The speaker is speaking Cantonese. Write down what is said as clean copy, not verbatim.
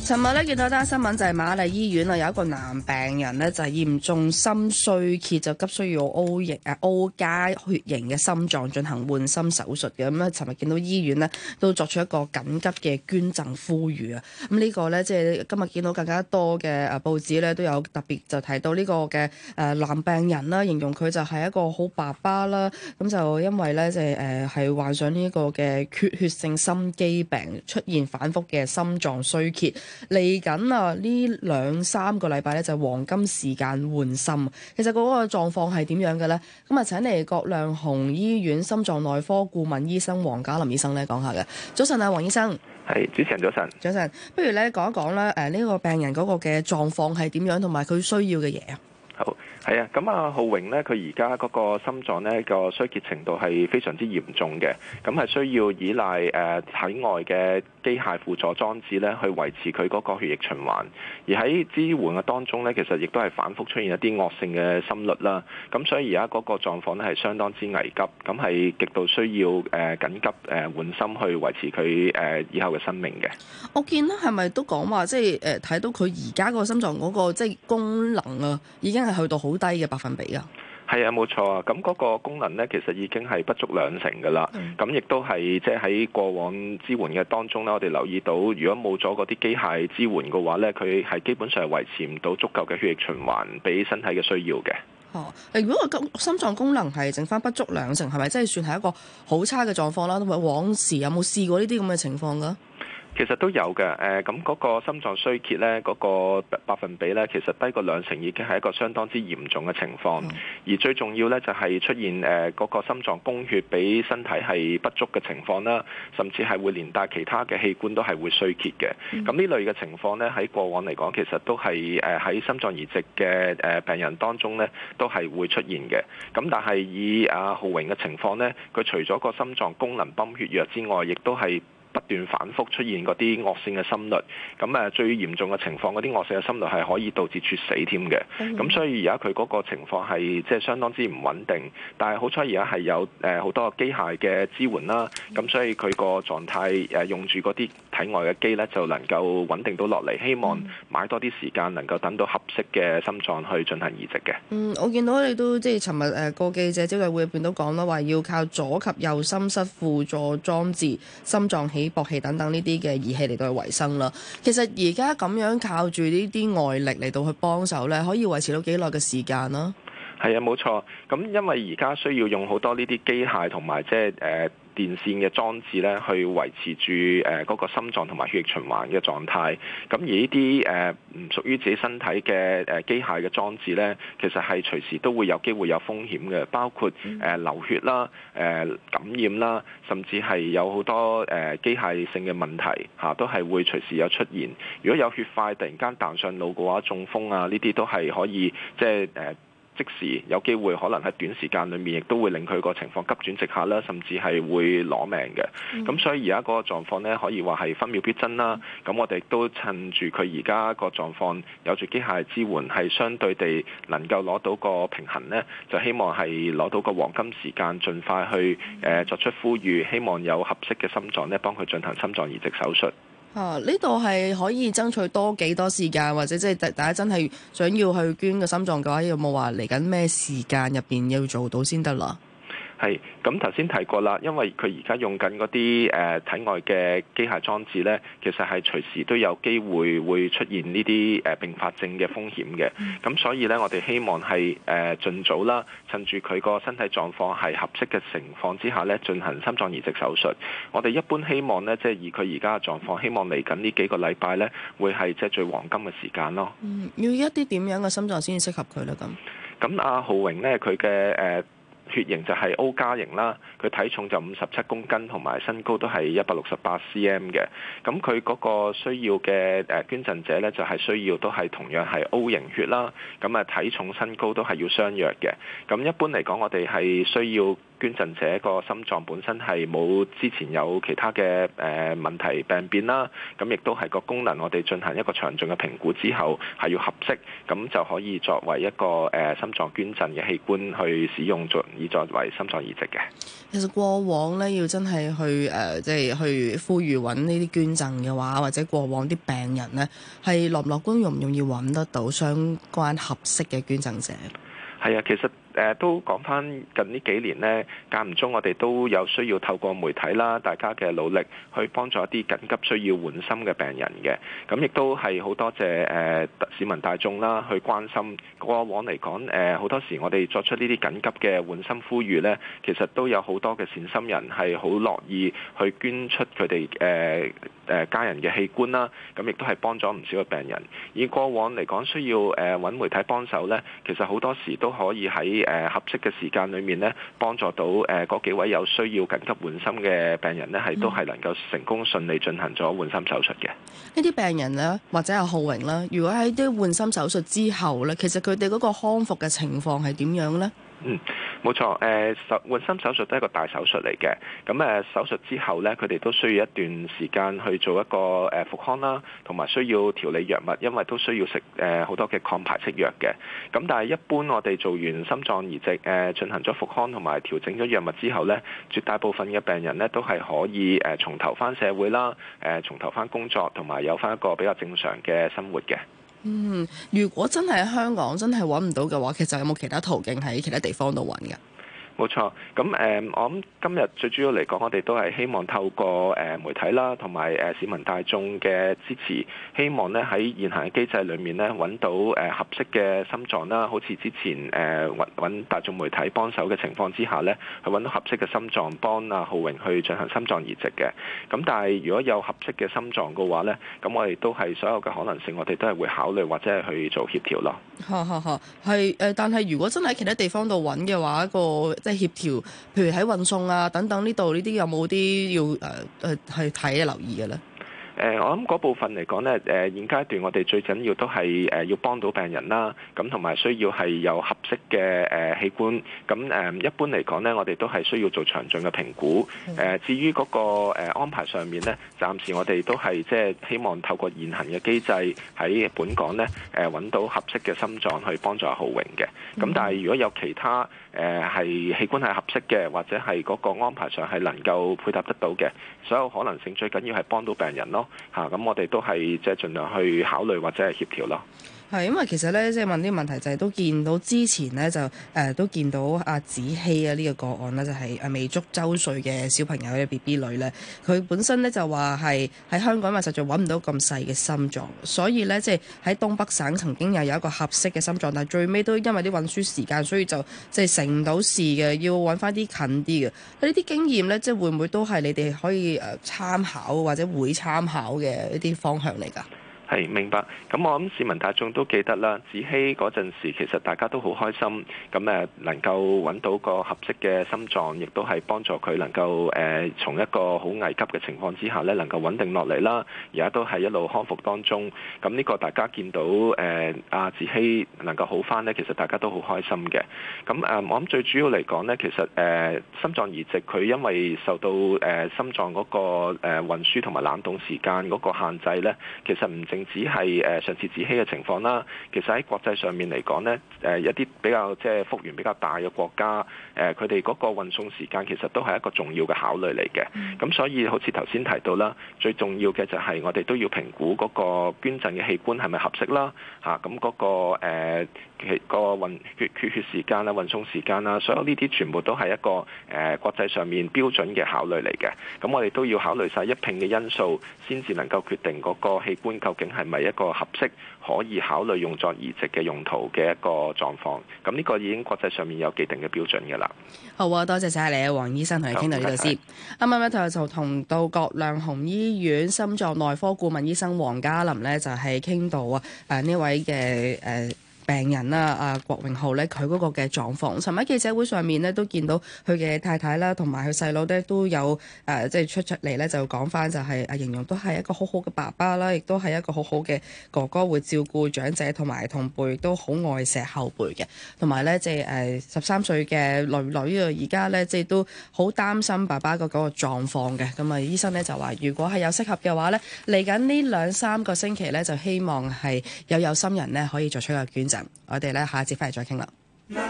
尋日咧見到單新聞就係瑪麗醫院啊，有一個男病人咧就係嚴重心衰竭，就急需要 O 加血型嘅心臟進行換心手術嘅。咁咧，尋日見到醫院咧都作出一個緊急嘅捐贈呼籲啊。咁呢個咧即係今日見到更加多嘅報紙咧都有特別就提到呢個嘅男病人啦，形容佢就係一個好爸爸啦。咁就因為咧即係係患上呢個嘅缺血性心肌病，出現反覆嘅心臟衰竭。嚟緊啊！呢2-3個禮拜咧就係黃金時間換心。其實嗰個狀況係點樣嘅咧？咁啊請嚟葛量洪醫院心臟內科顧問醫生黃嘉林醫生咧講下嘅。早晨啊，黃醫生。 係，主持人早晨。 早晨，不如咧講一講咧呢個病人嗰個嘅狀況係點樣，同埋佢需要嘅嘢啊？ 好，係啊，咁啊浩榮呢，佢而家嗰個心臟呢個衰竭程度係非常之嚴重嘅，咁係需要依賴體外嘅機械輔助裝置呢去維持佢嗰個血液循環，而喺支援嘅當中呢，其實亦都係反覆出現一啲惡性嘅心律啦，咁所以而家嗰個狀況呢係相當之危急，咁係極度需要緊急換心去維持佢以後嘅生命嘅。我見咧係咪都講話即係睇到佢而家個心臟嗰個即係功能啊，已經係去到好低嘅百分比啊？ 係啊，冇錯啊。咁嗰個功能呢，其實已經係不足2成㗎啦。咁亦都係即係喺過往支援嘅當中呢，我哋留意到，如果冇咗嗰啲機械支援嘅話呢，佢係基本上係維持唔到足夠嘅血液循環俾身體嘅需要嘅。 如果個心臟功能係剩翻不足2成，係咪真係算係一個好差嘅狀況啦？同埋往時有冇試過呢啲咁嘅情況㗎？ 其實都有嘅，咁嗰個心臟衰竭呢，嗰個百分比呢，其實低過2成已經係一個相當之嚴重嘅情況。而最重要呢，就係出現嗰個心臟供血俾身體係不足嘅情況啦，甚至係會連帶其他嘅器官都係會衰竭嘅。咁呢類嘅情況呢，喺過往嚟講，其實都係喺心臟移植嘅病人當中呢，都係會出現嘅。咁但係以浩榮嘅情況呢，佢除咗個心臟功能泵血藥之外，亦都係不斷反覆出現嗰啲惡性嘅心律，咁最嚴重嘅情況，嗰啲惡性嘅心律係可以導致猝死添嘅。咁所以而家佢嗰個情況係即係相當之唔穩定，但係好彩而家係有好多機械嘅支援啦，咁所以佢個狀態用住嗰啲體外嘅機呢，就能夠穩定到落嚟。希望買多啲時間，能夠等到合適嘅心臟去進行移植嘅。 我見到你都即係尋日個記者招待會入邊都講啦，話要靠左及右心室輔助裝置、心臟起搏器等等呢啲嘅儀器嚟到去維生啦。其實而家咁樣靠住呢啲外力嚟到去幫手咧，可以維持到幾耐嘅時間啦？ 係啊，冇錯。咁因為而家需要用好多呢啲機械同埋即係電線嘅裝置咧，去維持住嗰個心臟同埋血液循環嘅狀態。咁而呢啲唔屬於自己身體嘅機械嘅裝置咧，其實係隨時都會有機會有風險嘅，包括流血啦、感染啦，甚至係有好多機械性嘅問題都係會隨時有出現。如果有血塊突然間彈上腦嘅話，中風啊呢啲都係可以即係即時有機會可能喺短時間裏面亦都會令佢個情況急轉直下啦，甚至係會攞命嘅。咁所以而家嗰個狀況呢，可以話係分秒必爭啦。咁我哋亦都趁住佢而家個狀況有住機械支援，係相對地能夠攞到個平衡呢，就希望係攞到個黃金時間，盡快去作出呼籲，希望有合適嘅心臟呢，幫佢進行心臟移植手術。 呢度係可以爭取多幾多時間，或者即係大家真係想要去捐個心臟嘅話，有冇話嚟緊咩時間入邊要做到先得啦？ 係，咁頭先提過啦，因為佢而家用緊嗰啲體外嘅機械裝置呢，其實係隨時都有機會會出現呢啲併發症嘅風險嘅。咁所以呢，我哋希望係盡早啦，趁住佢個身體狀況係合適嘅情況之下呢，進行心臟移植手術。我哋一般希望呢，即係以佢而家嘅狀況，希望嚟緊呢幾個禮拜呢，會係即係最黃金嘅時間咯。 要一啲點樣嘅心臟先至適合佢呢？ 咁阿浩榮呢，佢嘅血型就係 O 加型啦，佢體重就57公斤，同埋身高都係168 cm 嘅。咁佢嗰個需要嘅捐贈者呢，就係需要都係同樣係 O 型血啦。咁體重身高都係要相若嘅。咁一般嚟講，我哋係需要捐贈者個心臟本身係冇之前有其他嘅問題病變啦，咁亦都係個功能我哋進行一個詳盡嘅評估之後係要合適，咁就可以作為一個心臟捐贈嘅器官去使用以作為心臟移植嘅。 其實過往咧要真係去即係去呼籲揾呢啲捐贈嘅話，或者過往啲病人咧係樂唔樂觀，容唔容易揾得到相關合適嘅捐贈者？ 係啊，其實都講翻近呢幾年呢，間唔中我哋都有需要透過媒體啦，大家嘅努力去幫助一啲緊急需要換心嘅病人嘅。咁亦都係好多謝市民大眾啦，去關心。過往嚟講，好多時我哋作出呢啲緊急嘅換心呼籲呢，其實都有好多嘅善心人係好樂意去捐出佢哋家人嘅器官啦。咁亦都係幫咗唔少嘅病人。以過往嚟講，需要揾媒體幫手呢，其實好多時都可以喺合適嘅時間裏面呢，幫助到嗰幾位有需要緊急換心嘅病人呢，係都係能夠成功順利進行咗換心手術嘅。呢啲病人呢，或者係浩榮啦，如果喺啲換心手術之後呢，其實佢哋嗰個康復嘅情況係點樣呢？ 冇錯，換心手術都係一個大手術嚟嘅。咁手術之後呢，佢哋都需要一段時間去做一個復康啦，同埋需要調理藥物，因為都需要食好多嘅抗排斥藥嘅。咁但係一般我哋做完心臟移植進行咗復康同埋調整咗藥物之後呢，絕大部分嘅病人呢都係可以重投翻社會啦，重投翻工作，同埋有翻一個比較正常嘅生活嘅。 如果真係喺香港真係揾唔到嘅話，其實有冇其他途徑喺其他地方度揾㗎？ 冇錯，咁我諗今日最主要嚟講，我哋都係希望透過媒體啦，同埋市民大眾嘅支持，希望咧喺現行嘅機制裏面咧揾到合適嘅心臟啦，好似之前揾大眾媒體幫手嘅情況之下咧，去揾到合適嘅心臟幫阿浩榮去進行心臟移植嘅。咁但係如果有合適嘅心臟嘅話咧，咁我哋都係所有嘅可能性，我哋都係會考慮或者係去做協調咯。 係但係如果真係喺其他地方度揾嘅話，個即係協調，譬如喺運送啊等等呢度呢啲有冇啲要去睇留意嘅咧？ 我諗嗰部分嚟講呢，現階段我哋最緊要都係要幫到病人啦，咁同埋需要係有合適嘅器官。咁一般嚟講呢，我哋都係需要做詳盡嘅評估。至於嗰個安排上面呢，暫時我哋都係即係希望透過現行嘅機制喺本港呢揾到合適嘅心臟去幫助浩榮嘅。咁但係如果有其他係器官係合適嘅，或者係嗰個安排上係能夠配合得到嘅，所有可能性最緊要係幫到病人咯。咁我哋都係即係盡量去考慮或者係協調咯。 係，因為其實咧，即係問啲問題就係都見到之前咧就都見到阿子希啊呢個個案咧，就係未足周歲嘅小朋友嘅 BB 女咧，佢本身咧就話係喺香港，因為實在揾唔到咁細嘅心臟，所以咧即係喺東北省曾經有一個合適嘅心臟，但係最尾都因為啲運輸時間，所以就即係成唔到事嘅，要揾翻啲近啲嘅。呢啲經驗咧，即係會唔會都係你哋可以參考或者會參考嘅一啲方向嚟㗎？ 係明白，咁我諗市民大眾都記得啦。子希嗰陣時，其實大家都好開心，咁能夠揾到個合適嘅心臟，亦都係幫助佢能夠從一個好危急嘅情況之下呢，能夠穩定落嚟啦。而家都係一路康復當中，咁呢個大家見到阿子希能夠好返呢，其實大家都好開心嘅。咁我諗最主要嚟講呢，其實心臟移植佢因為受到心臟嗰個運輸同埋冷凍時間嗰個限制呢，其實唔淨只係上次子希嘅情況啦，其實喺國際上面嚟講呢，一啲比較即係幅員比較大嘅國家，佢哋嗰個運送時間其實都係一個重要嘅考慮嚟嘅。咁所以好似頭先提到啦，最重要嘅就係我哋都要評估嗰個捐贈嘅器官係咪合適啦。咁嗰個運血時間啦、運送時間啦，所有呢啲全部都係一個國際上面標準嘅考慮嚟嘅。咁我哋都要考慮晒一併嘅因素，先至能夠決定嗰個器官究竟係咪一個合適可以考慮用作移植嘅用途嘅一個狀況。咁呢個已經國際上面有既定嘅標準嘅啦。 好啊，多謝晒你啊，黃醫生，同你傾到呢度先。啱啱就同到葛量洪醫院心臟內科顧問醫生黃嘉琳呢，就係傾到呢位嘅病人啦，郭榮浩咧，佢嗰個嘅狀況。尋日記者會上面咧都見到佢嘅太太啦，同埋佢細佬咧都有即係出嚟咧就講翻就係形容都係一個好好嘅爸爸啦，亦都係一個好好嘅哥哥，會照顧長者同埋同輩，亦都好愛錫後輩嘅。同埋咧即係13歲嘅女啊，而家咧即係都好擔心爸爸嗰個狀況嘅。咁啊，醫生咧就話，如果係有適合嘅話咧，嚟緊呢2-3個星期咧，就希望係有心人咧可以作出一個捐贈。我哋咧下一節翻嚟再傾啦。